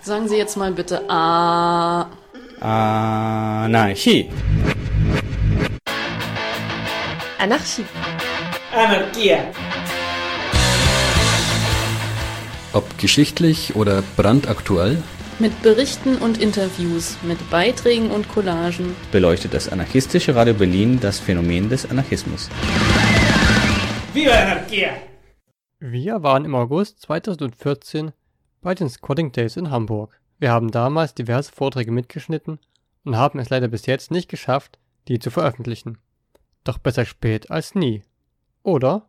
Sagen Sie jetzt mal bitte Anarchie. Anarchie. Anarchia. Ob geschichtlich oder brandaktuell, mit Berichten und Interviews, mit Beiträgen und Collagen beleuchtet das anarchistische Radio Berlin das Phänomen des Anarchismus. Viva Anarchia! Wir waren im August 2014 bei den Squatting Days in Hamburg. Wir haben damals diverse Vorträge mitgeschnitten und haben es leider bis jetzt nicht geschafft, die zu veröffentlichen. Doch besser spät als nie. Oder?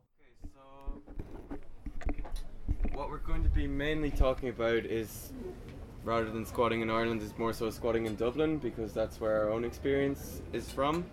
What we're going to be mainly talking about is, rather than squatting in Ireland, is more so squatting in Dublin, because that's where our own experience is from.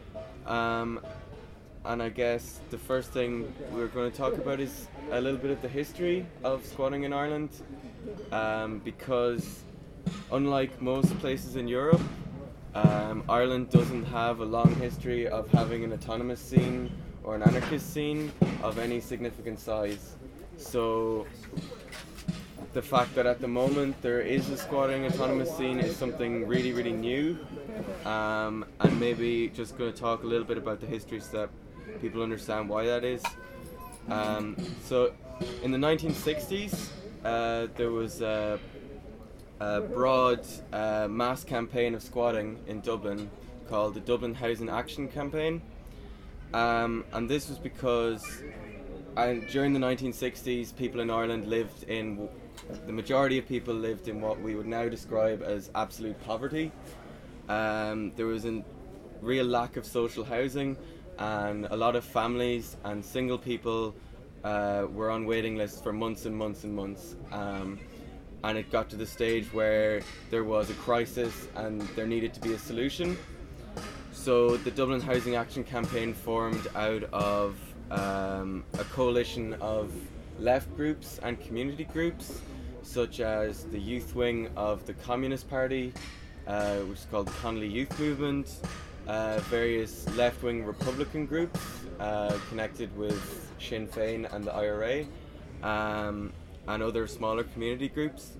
And I guess the first thing we're going to talk about is a little bit of the history of squatting in Ireland, because unlike most places in Europe, Ireland doesn't have a long history of having an autonomous scene or an anarchist scene of any significant size. So the fact that at the moment there is a squatting autonomous scene is something really, really new, and maybe just going to talk a little bit about the history so that people understand why that is. So in the 1960s, there was a broad mass campaign of squatting in Dublin called the Dublin Housing Action Campaign, and this was because during the 1960s people in Ireland the majority of people lived in what we would now describe as absolute poverty. There was a real lack of social housing, and a lot of families and single people were on waiting lists for months and months and months. And it got to the stage where there was a crisis and there needed to be a solution. So the Dublin Housing Action Campaign formed out of a coalition of left groups and community groups, such as the youth wing of the Communist Party, which is called the Connolly Youth Movement, various left-wing Republican groups connected with Sinn Féin and the IRA, and other smaller community groups.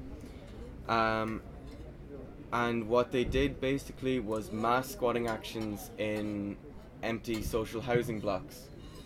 And what they did basically was mass squatting actions in empty social housing blocks.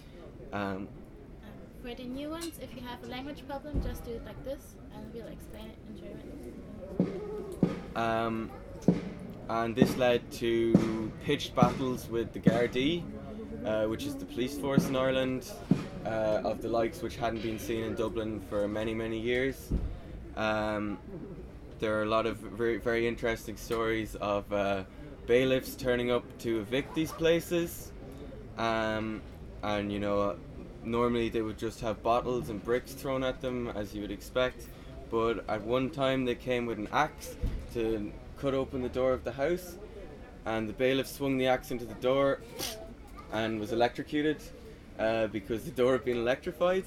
For the new ones, if you have a language problem, just do it like this and we'll explain it in German. And this led to pitched battles with the Gardaí, which is the police force in Ireland, of the likes which hadn't been seen in Dublin for many, many years. There are a lot of very, very interesting stories of bailiffs turning up to evict these places, and you know, normally they would just have bottles and bricks thrown at them, as you would expect, but at one time they came with an axe to cut open the door of the house, and the bailiff swung the axe into the door and was electrocuted because the door had been electrified.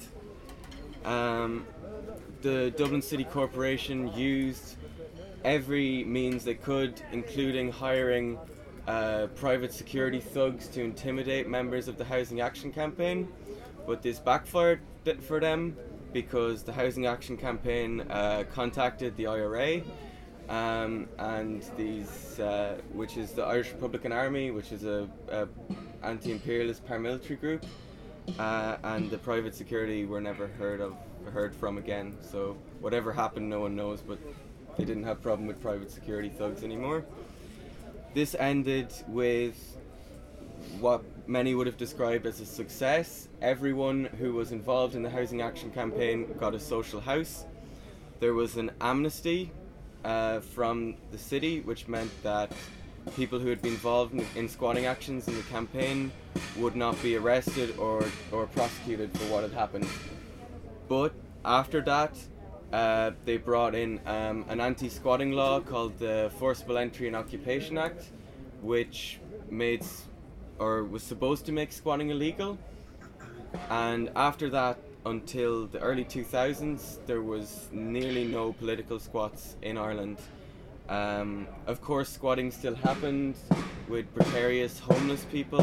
The Dublin City Corporation used every means they could, including hiring private security thugs to intimidate members of the Housing Action Campaign, but this backfired for them because the Housing Action Campaign contacted the IRA, and these, which is the Irish Republican Army, which is a anti-imperialist paramilitary group, and the private security were never heard from again. So whatever happened, no one knows, but they didn't have a problem with private security thugs anymore. This ended with what many would have described as a success. Everyone who was involved in the Housing Action Campaign got a social house. There was an amnesty from the city, which meant that people who had been involved in squatting actions in the campaign would not be arrested or prosecuted for what had happened. But after that, they brought in an anti-squatting law called the Forcible Entry and Occupation Act, which was supposed to make squatting illegal. And after that, until the early 2000s, there was nearly no political squats in Ireland. Of course, squatting still happened with precarious homeless people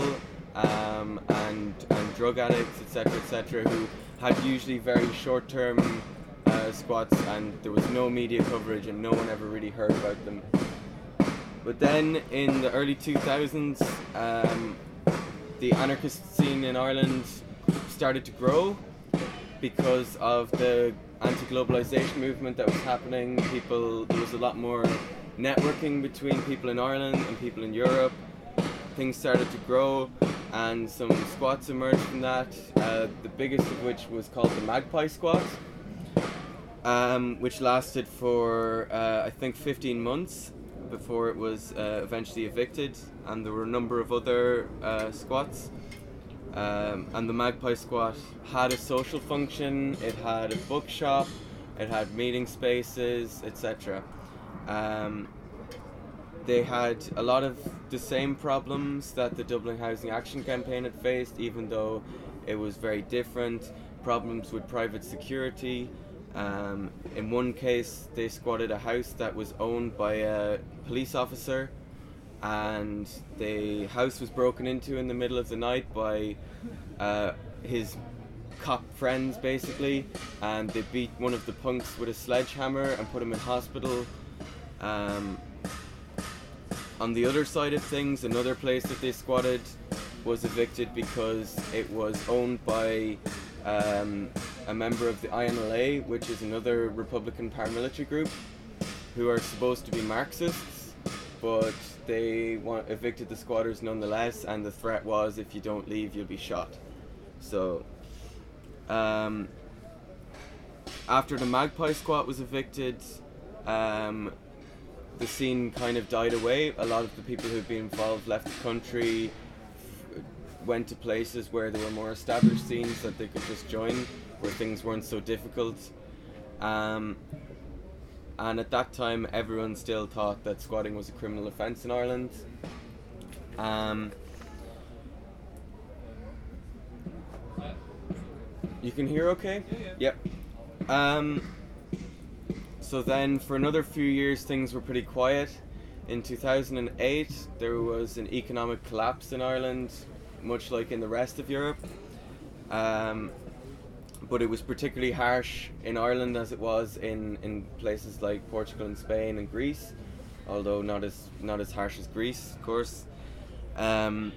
and drug addicts, etc., who had usually very short-term squats, and there was no media coverage and no one ever really heard about them. But then in the early 2000s, the anarchist scene in Ireland started to grow because of the anti-globalization movement that was happening. There was a lot more networking between people in Ireland and people in Europe. Things started to grow, and some squats emerged from that, the biggest of which was called the Magpie Squat, which lasted for I think 15 months before it was eventually evicted, and there were a number of other squats. And the Magpie Squat had a social function, it had a bookshop, it had meeting spaces, etc. They had a lot of the same problems that the Dublin Housing Action Campaign had faced, even though it was very different. Problems with private security. In one case, they squatted a house that was owned by a police officer, and the house was broken into in the middle of the night by his cop friends, basically, and they beat one of the punks with a sledgehammer and put him in hospital. On the other side of things, another place that they squatted was evicted because it was owned by a member of the INLA, which is another Republican paramilitary group, who are supposed to be Marxists, but they evicted the squatters nonetheless, and the threat was, if you don't leave, you'll be shot. So, after the Magpie Squat was evicted, the scene kind of died away. A lot of the people who'd been involved left the country, went to places where there were more established scenes that they could just join, where things weren't so difficult. And at that time, everyone still thought that squatting was a criminal offence in Ireland. You can hear okay? Yep. So then for another few years things were pretty quiet. In 2008 there was an economic collapse in Ireland, much like in the rest of Europe. But it was particularly harsh in Ireland as it was in places like Portugal and Spain and Greece, although not as harsh as Greece, of course. And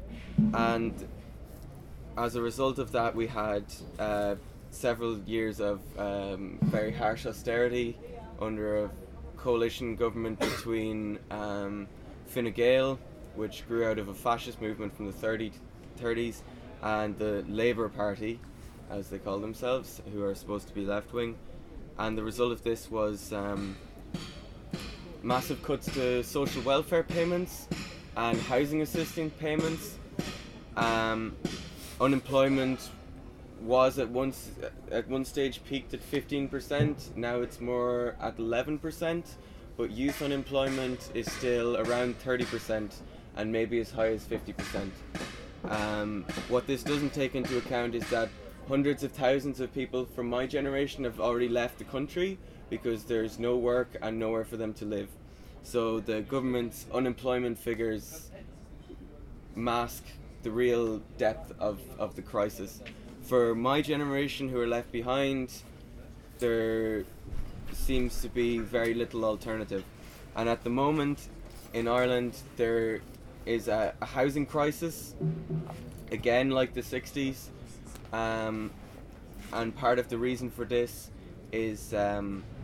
as a result of that, we had several years of very harsh austerity under a coalition government between Fine Gael, which grew out of a fascist movement from the 30s, and the Labour Party, as they call themselves, who are supposed to be left-wing. And the result of this was massive cuts to social welfare payments and housing assistance payments. Unemployment was at one stage peaked at 15%, now it's more at 11%, but youth unemployment is still around 30% and maybe as high as 50%. What this doesn't take into account is that hundreds of thousands of people from my generation have already left the country because there's no work and nowhere for them to live. So the government's unemployment figures mask the real depth of the crisis. For my generation who are left behind, there seems to be very little alternative. And at the moment in Ireland there is a housing crisis, again like the 60s, and part of the reason for this is a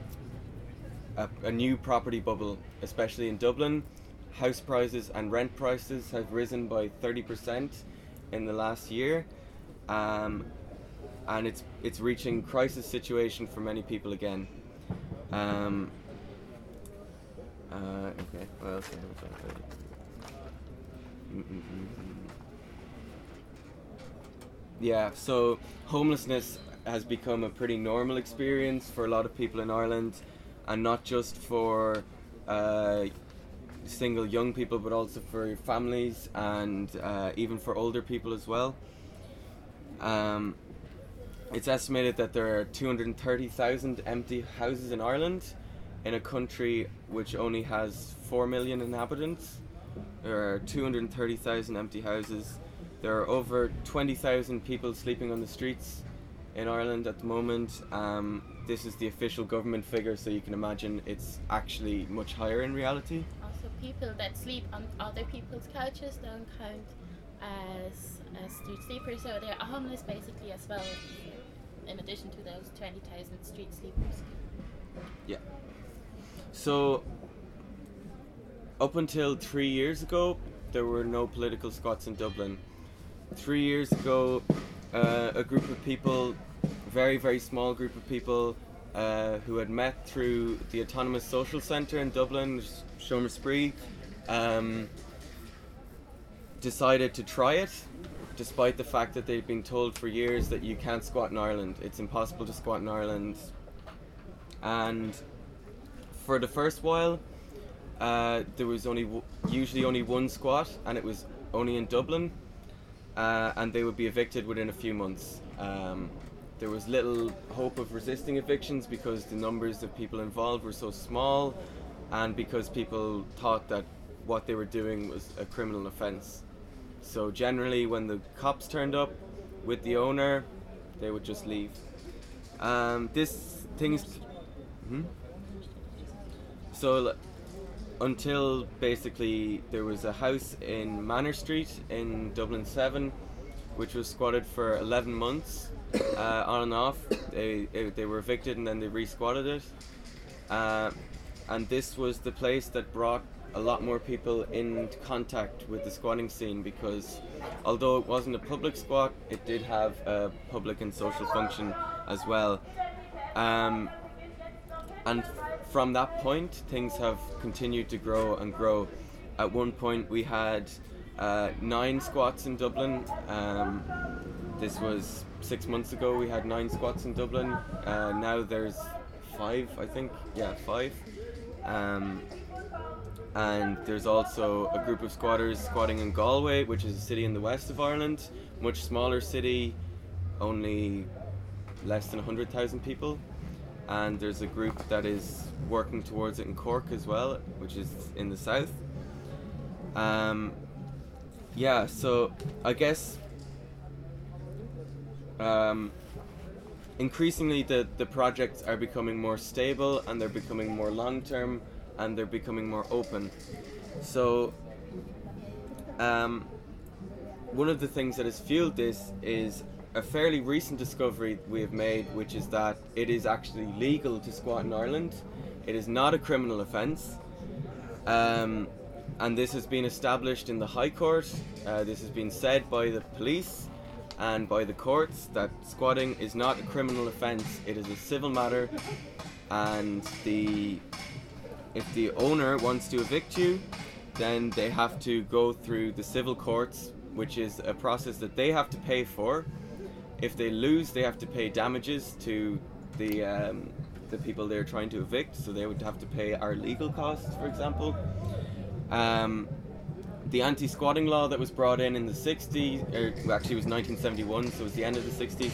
new property bubble, especially in Dublin. House prices and rent prices have risen by 30% in the last year, and it's reaching crisis situation for many people again. Okay, what else do I have about that? Yeah, so homelessness has become a pretty normal experience for a lot of people in Ireland, and not just for single young people, but also for families and even for older people as well. It's estimated that there are 230,000 empty houses in Ireland, in a country which only has 4 million inhabitants. There are 230,000 empty houses. There are over 20,000 people sleeping on the streets in Ireland at the moment. This is the official government figure, so you can imagine it's actually much higher in reality. Also, people that sleep on other people's couches don't count as street sleepers, so they're homeless basically as well, in addition to those 20,000 street sleepers. Yeah. So, up until 3 years ago, there were no political squats in Dublin. 3 years ago, a group of people, very, very small group of people, who had met through the Autonomous Social Centre in Dublin, Seomra Spree, decided to try it, despite the fact that they'd been told for years that you can't squat in Ireland. It's impossible to squat in Ireland. And for the first while, there was usually only one squat, and it was only in Dublin, and they would be evicted within a few months. There was little hope of resisting evictions because the numbers of people involved were so small, and because people thought that what they were doing was a criminal offence. So generally, when the cops turned up with the owner, they would just leave. So until basically there was a house in Manor Street in Dublin 7, which was squatted for 11 months, on and off. They were evicted and then they re-squatted it. And this was the place that brought a lot more people in contact with the squatting scene, because although it wasn't a public squat, it did have a public and social function as well. And from that point, things have continued to grow and grow. At one point, we had 9 squats in Dublin. This was 6 months ago. We had 9 squats in Dublin. Now there's 5, I think. Yeah, 5. And there's also a group of squatters squatting in Galway, which is a city in the west of Ireland, much smaller city, only less than 100,000 people. And there's a group that is working towards it in Cork as well, which is in the south. Yeah, so I guess increasingly the projects are becoming more stable, and they're becoming more long-term, and they're becoming more open. So one of the things that has fueled this is a fairly recent discovery we have made, which is that it is actually legal to squat in Ireland. It is not a criminal offence. And this has been established in the High Court. This has been said by the police and by the courts that squatting is not a criminal offence. It is a civil matter, and if the owner wants to evict you, then they have to go through the civil courts, which is a process that they have to pay for. If they lose, they have to pay damages to the people they're trying to evict, so they would have to pay our legal costs, for example. The anti-squatting law that was brought in the 60s, actually it was 1971, so it was the end of the 60s,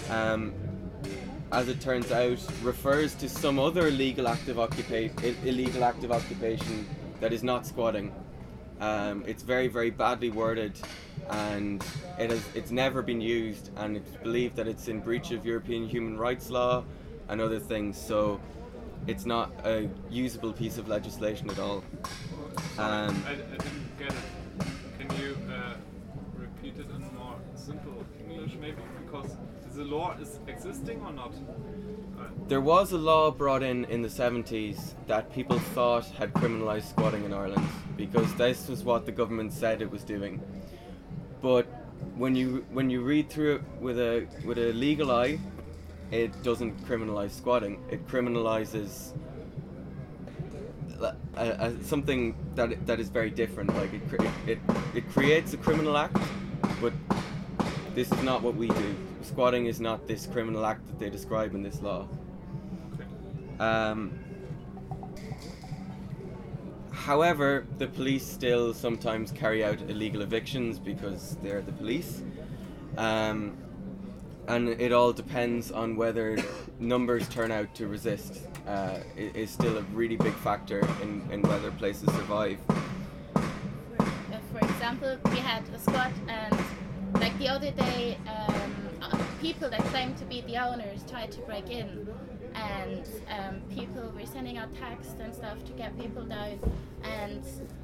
as it turns out, refers to some other illegal act of occupation that is not squatting. It's very, very badly worded, and it's never been used, and it's believed that it's in breach of European human rights law and other things, so it's not a usable piece of legislation at all. I didn't get it. Can you repeat it in more simple English maybe? Because the law is existing or not? There was a law brought in the 70s that people thought had criminalised squatting in Ireland, because this was what the government said it was doing. But when you read through it with a legal eye, it doesn't criminalise squatting. It criminalises something that is very different. Like it creates a criminal act, but this is not what we do. Squatting is not this criminal act that they describe in this law. However, the police still sometimes carry out illegal evictions because they're the police, and it all depends on whether numbers turn out to resist. It is still a really big factor in whether places survive. For example, we had a squat, and like the other day, people that claimed to be the owners tried to break in, and people were sending out texts and stuff to get people down, and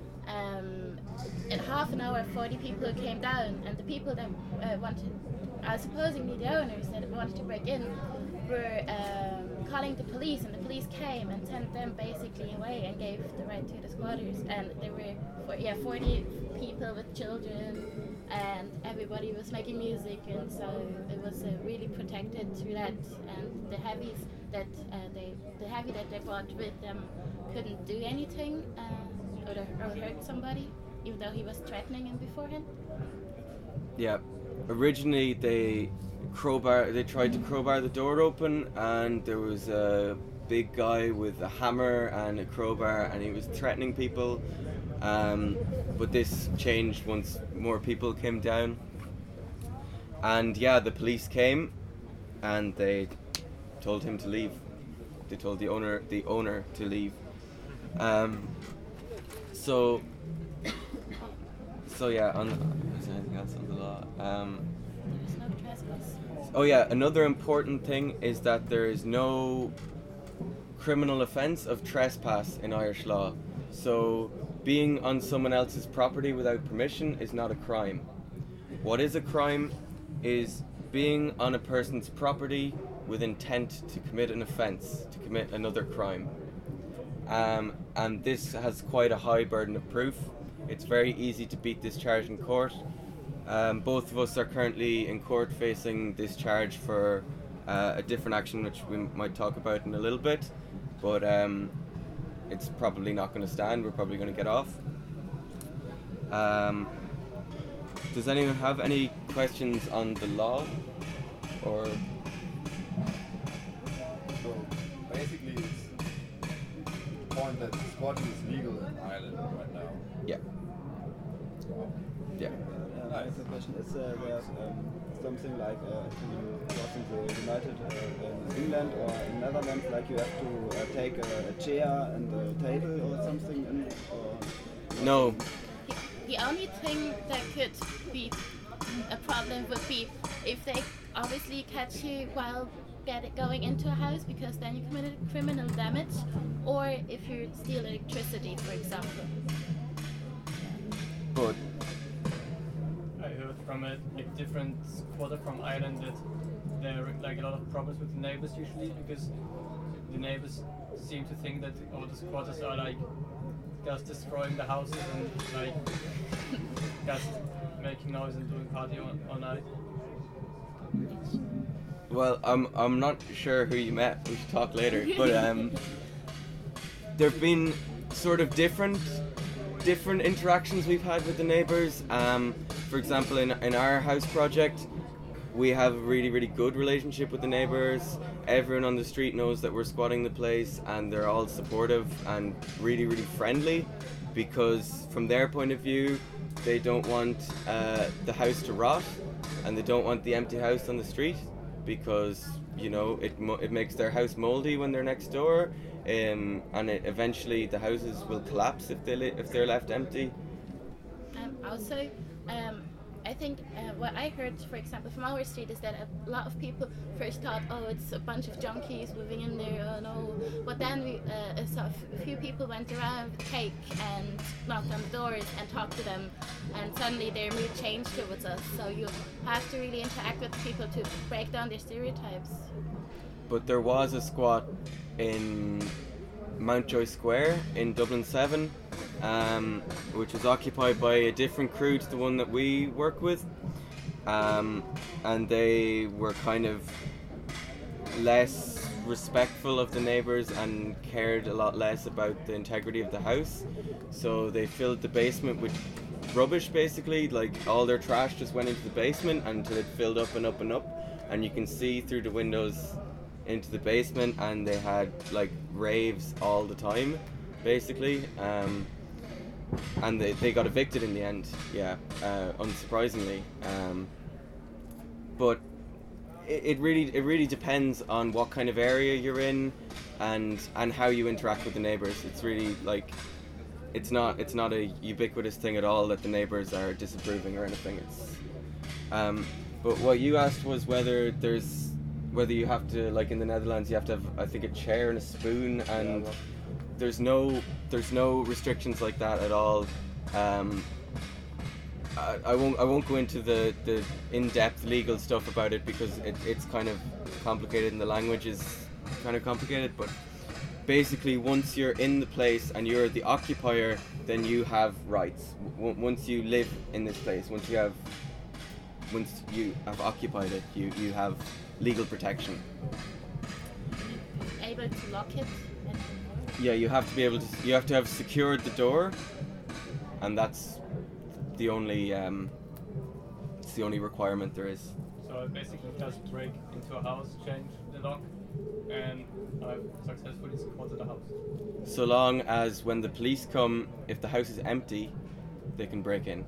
in half an hour 40 people came down, and the people that supposedly the owners that wanted to break in were calling the police, and the police came and sent them basically away and gave the right to the squatters. And there were 40 people with children, and everybody was making music, and so it was really protected through that. And the heavies that they brought with them couldn't do anything or hurt somebody, even though he was threatening him beforehand. Yeah, originally they tried to crowbar the door open, and there was a big guy with a hammer and a crowbar, and he was threatening people. But this changed once more people came down, and yeah, the police came, and they told him to leave. They told the owner to leave. So yeah, is there anything else on the law? There's no trespass. Oh yeah, another important thing is that there is no criminal offence of trespass in Irish law. So being on someone else's property without permission is not a crime. What is a crime is being on a person's property with intent to commit an offence, to commit another crime. And this has quite a high burden of proof. It's very easy to beat this charge in court. Both of us are currently in court facing this charge for a different action, which we might talk about in a little bit, but it's probably not going to stand. We're probably going to get off. Does anyone have any questions on the law? Or so basically it's the point that squatting is legal in Ireland right now. Yeah. Yeah. I have a question. Is there something like you was in the United England or in Netherlands, like you have to take a chair and a table or something in? Or No. The only thing that could be a problem would be if they obviously catch you while going into a house, because then you committed criminal damage, or if you steal electricity, for example. But I heard from a different squatter from Ireland that there are like a lot of problems with the neighbors usually, because the neighbors seem to think that all the squatters are like just destroying the houses and like just making noise and doing party all night. Well, I'm not sure who you met. We should talk later. But there've been sort of different interactions we've had with the neighbours. For example, in our house project, we have a really, really good relationship with the neighbours. Everyone on the street knows that we're squatting the place, and they're all supportive and really, really friendly, because from their point of view, they don't want the house to rot, and they don't want the empty house on the street, because you know it makes their house mouldy when they're next door, and eventually the houses will collapse if they're left empty. Also, I think what I heard, for example, from our street is that a lot of people first thought, oh, it's a bunch of junkies moving in there, oh no. But then a few people went around with cake and knocked on the doors and talked to them, and suddenly their mood changed towards us. So you have to really interact with people to break down their stereotypes. But there was a squat in Mountjoy Square in Dublin 7, which was occupied by a different crew to the one that we work with, and they were kind of less respectful of the neighbours and cared a lot less about the integrity of the house. So they filled the basement with rubbish, basically, like all their trash just went into the basement until it filled up and up and up, and you can see through the windows into the basement, and they had like raves all the time, basically, and they got evicted in the end, unsurprisingly, but it really depends on what kind of area you're in and how you interact with the neighbours. It's really like it's not a ubiquitous thing at all that the neighbours are disapproving or anything. It's But what you asked was whether you have to, like in the Netherlands, you have to have, I think, a chair and a spoon, and there's no restrictions like that at all. I won't go into the in-depth legal stuff about it because it's kind of complicated and the language is kind of complicated. But basically, once you're in the place and you're the occupier, then you have rights. Once you live in this place, once you have occupied it, you have legal protection. Able to lock it? Yeah, you have to be able to. You have to have secured the door, and that's the only requirement there is. So I basically just break into a house, change the lock, and I've successfully secured the house. So long as when the police come, if the house is empty, they can break in.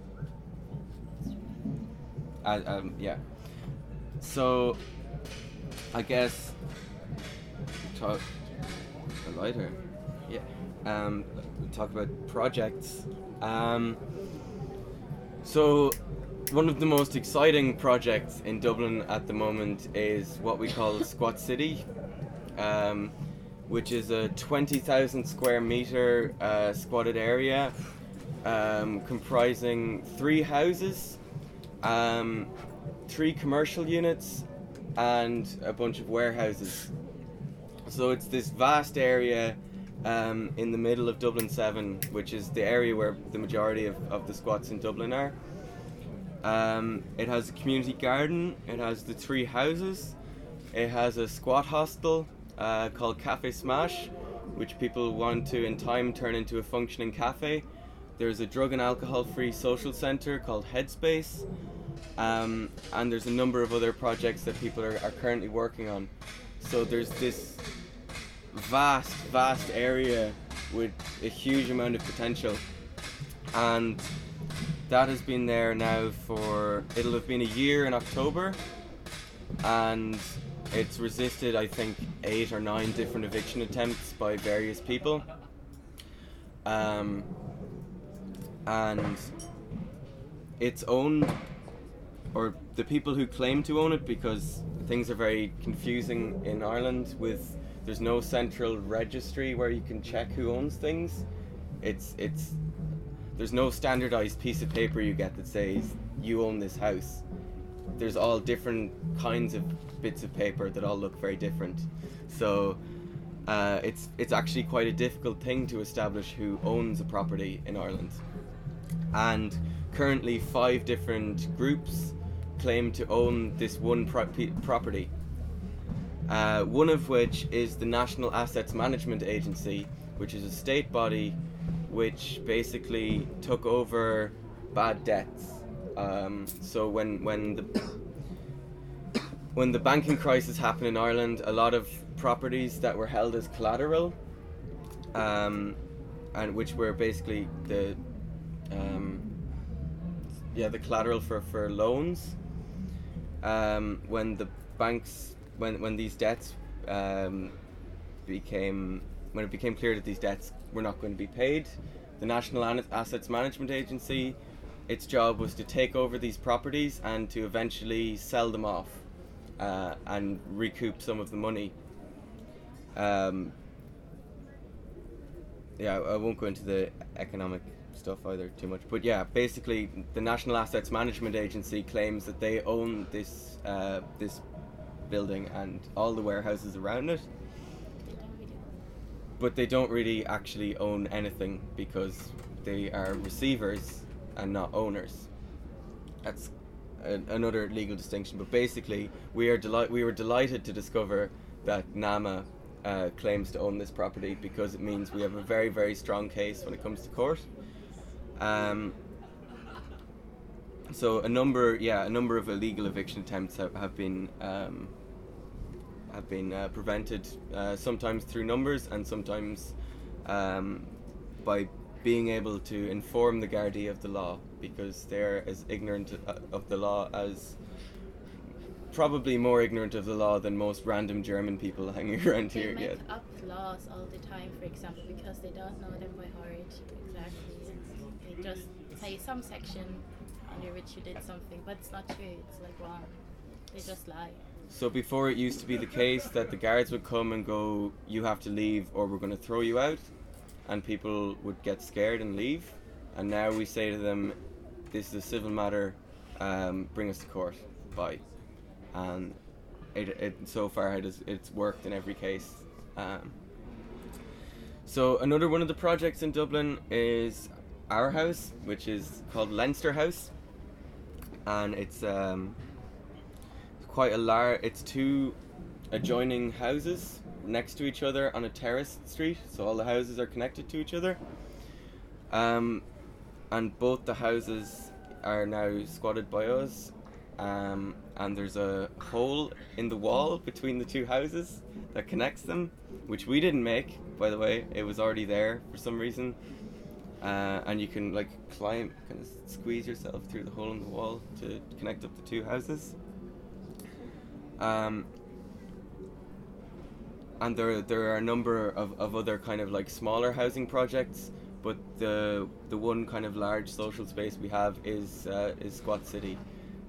Yeah. So I guess talk a lighter. Yeah. Talk about projects. So one of the most exciting projects in Dublin at the moment is what we call Squat City, which is a 20,000 square meter squatted area comprising 3 houses, 3 commercial units, and a bunch of warehouses. So it's this vast area in the middle of Dublin 7, which is the area where the majority of the squats in Dublin are. It has a community garden, it has the 3 houses, it has a squat hostel called Cafe Smash, which people want to in time turn into a functioning cafe. There's a drug and alcohol free social centre called Headspace, and there's a number of other projects that people are currently working on. So there's this vast area with a huge amount of potential, and that has been there now it'll have been a year in October, and it's resisted, I think, 8 or 9 different eviction attempts by various people, and it's owned, or the people who claim to own it, because things are very confusing in Ireland with there's no central registry where you can check who owns things. There's no standardized piece of paper you get that says you own this house. There's all different kinds of bits of paper that all look very different. So it's actually quite a difficult thing to establish who owns a property in Ireland. And currently 5 different groups claim to own this one property. One of which is the National Assets Management Agency, which is a state body which basically took over bad debts. So when the banking crisis happened in Ireland, a lot of properties that were held as collateral, and which were basically the collateral for loans, when these debts when it became clear that these debts were not going to be paid, the National Assets Management Agency, its job was to take over these properties and to eventually sell them off and recoup some of the money. I won't go into the economic stuff either too much, but yeah, basically the National Assets Management Agency claims that they own this building and all the warehouses around it, but they don't really actually own anything because they are receivers and not owners. That's another legal distinction, but basically we were delighted to discover that NAMA claims to own this property, because it means we have a very, very strong case when it comes to court. So a number of illegal eviction attempts have been prevented, sometimes through numbers and sometimes by being able to inform the Gardaí of the law, because they're as ignorant of the law as, probably more ignorant of the law than most random German people hanging around here. They make up laws all the time, for example, because they don't know them by heart exactly. They just say some section under which you did something, but it's not true. It's like wrong. They just lie. So before it used to be the case that the guards would come and go, you have to leave or we're going to throw you out, and people would get scared and leave, and now we say to them, this is a civil matter, bring us to court, bye. And it so far it's worked in every case. So another one of the projects in Dublin is our house, which is called Leinster House, and it's quite a large. It's two adjoining houses next to each other on a terraced street, so all the houses are connected to each other. And both the houses are now squatted by us, and there's a hole in the wall between the two houses that connects them, which we didn't make, by the way. It was already there for some reason, and you can like climb, kind of squeeze yourself through the hole in the wall to connect up the two houses. And there are a number of other kind of like smaller housing projects, but the one kind of large social space we have is Squat City.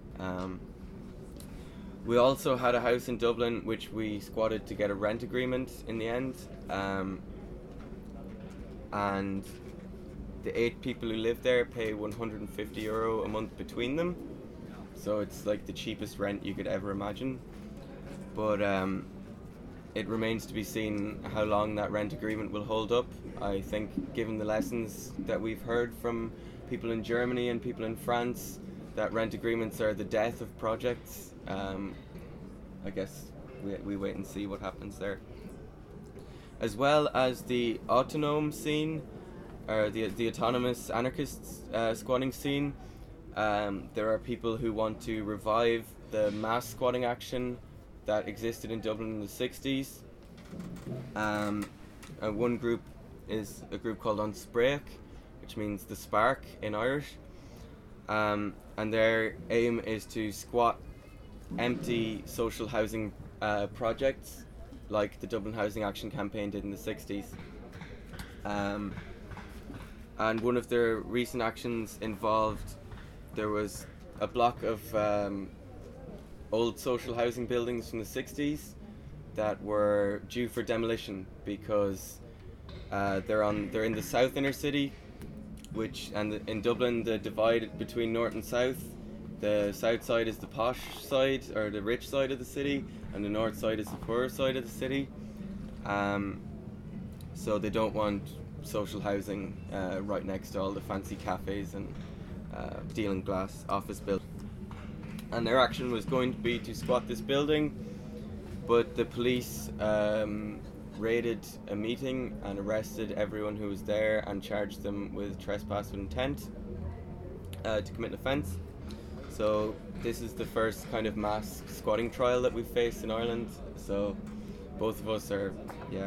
We also had a house in Dublin which we squatted to get a rent agreement in the end, and the 8 people who live there pay €150 a month between them, so it's like the cheapest rent you could ever imagine. But it remains to be seen how long that rent agreement will hold up. I think, given the lessons that we've heard from people in Germany and people in France, that rent agreements are the death of projects. I guess we wait and see what happens there. As well as the autonome scene, or the autonomous anarchist squatting scene, there are people who want to revive the mass squatting action that existed in Dublin in the 60s. And one group is a group called An Spréach, which means the spark in Irish. And their aim is to squat empty social housing projects like the Dublin Housing Action Campaign did in the 60s. And one of their recent actions involved, there was a block of old social housing buildings from the 60s that were due for demolition because they're in the south inner city, in Dublin the divide between north and south. The south side is the posh side or the rich side of the city, and the north side is the poorer side of the city. So they don't want social housing right next to all the fancy cafes and deal in glass office buildings. And their action was going to be to squat this building, but the police raided a meeting and arrested everyone who was there and charged them with trespass with intent to commit an offence. So this is the first kind of mass squatting trial that we've faced in Ireland. So both of us are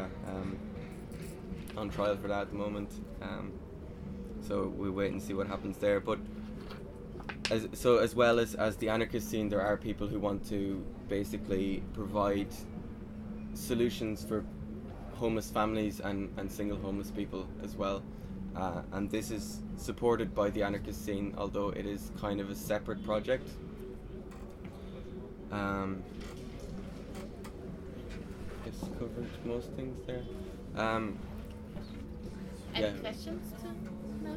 on trial for that at the moment. So we wait and see what happens there. But as well as the anarchist scene, there are people who want to basically provide solutions for homeless families and single homeless people as well. And this is supported by the anarchist scene, although it is kind of a separate project. I guess covered most things there. Any questions to know?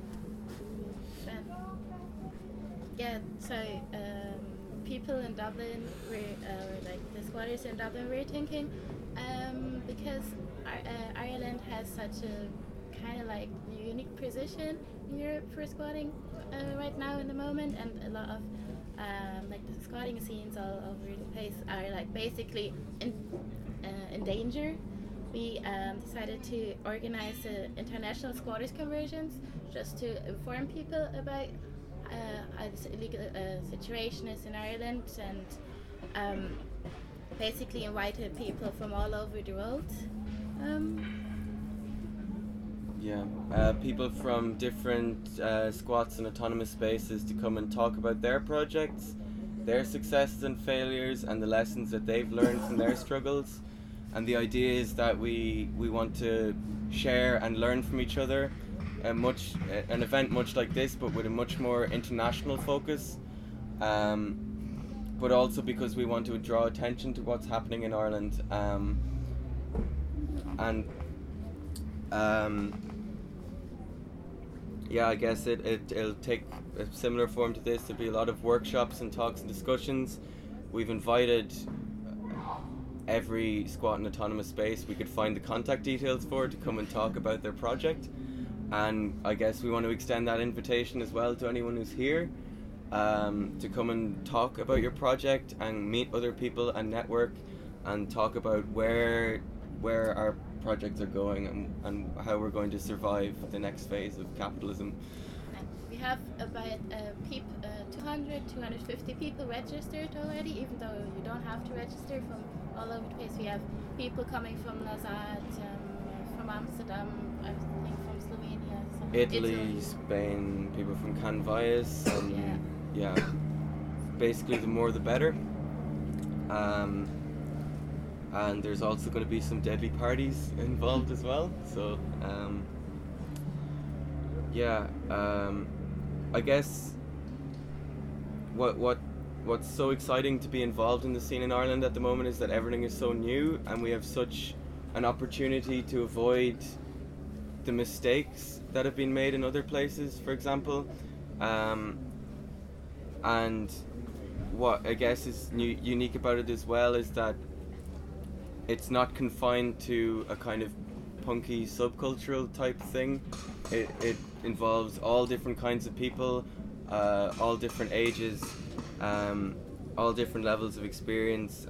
Yeah, so people in Dublin like the squatters in Dublin were thinking, because Ireland has such a kind of like unique position in Europe for squatting right now in the moment, and a lot of like the squatting scenes all over the place are like basically in danger. We decided to organize international squatters conversions just to inform people about how this illegal situation is in Ireland, and basically invited people from all over the world. People from different squats and autonomous spaces to come and talk about their projects, their successes and failures, and the lessons that they've learned from their struggles. And the idea is that we want to share and learn from each other, an event much like this, but with a much more international focus. But also because we want to draw attention to what's happening in Ireland. I guess it'll take a similar form to this. There'll be a lot of workshops and talks and discussions. We've invited every squat and autonomous space we could find the contact details for to come and talk about their project. And I guess we want to extend that invitation as well to anyone who's here to come and talk about your project and meet other people and network and talk about where our projects are going and how we're going to survive the next phase of capitalism. We have about 250 people registered already, even though you don't have to register from all over the place. We have people coming from Lausanne, from Amsterdam, I think from Slovenia, Italy, Spain, people from Canvas, basically the more the better. And there's also going to be some deadly parties involved as well. So, I guess what's so exciting to be involved in the scene in Ireland at the moment is that everything is so new, and we have such an opportunity to avoid the mistakes that have been made in other places, for example. And what I guess is unique about it as well is that it's not confined to a kind of punky subcultural type thing. It involves all different kinds of people, all different ages, all different levels of experience,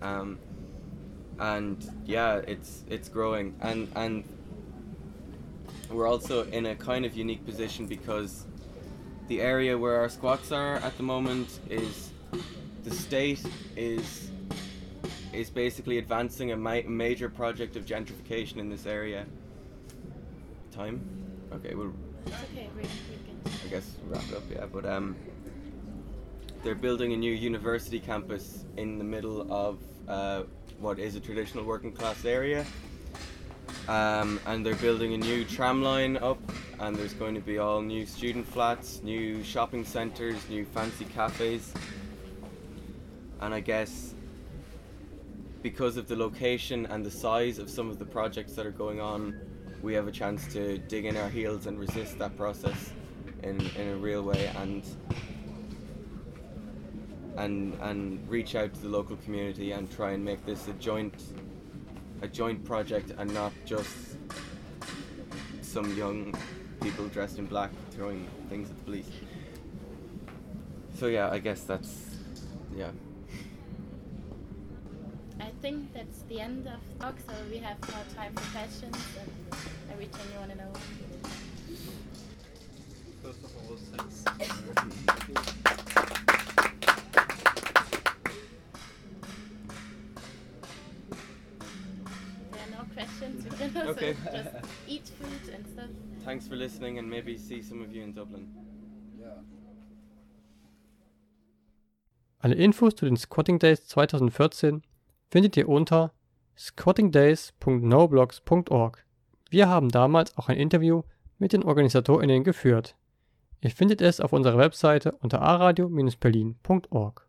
it's growing, and we're also in a kind of unique position because the area where our squats are at the moment is the state is basically advancing a major project of gentrification in this area. Time? Okay, we'll. It's okay, we're good. I guess wrap it up, yeah. But they're building a new university campus in the middle of what is a traditional working class area, and they're building a new tram line up, and there's going to be all new student flats, new shopping centres, new fancy cafes, and I guess because of the location and the size of some of the projects that are going on, we have a chance to dig in our heels and resist that process in a real way and reach out to the local community and try and make this a joint project and not just some young people dressed in black throwing things at the police. So yeah, I guess that's, yeah. I think that's the end of the talk, so we have more time for questions and everything you want to know. First of all, thanks. There are no questions, we can also just eat food and stuff. Thanks for listening, and maybe see some of you in Dublin. Alle Infos zu den Squatting Days 2014 findet ihr unter squattingdays.noblogs.org. Wir haben damals auch ein Interview mit den OrganisatorInnen geführt. Ihr findet es auf unserer Webseite unter aradio-berlin.org.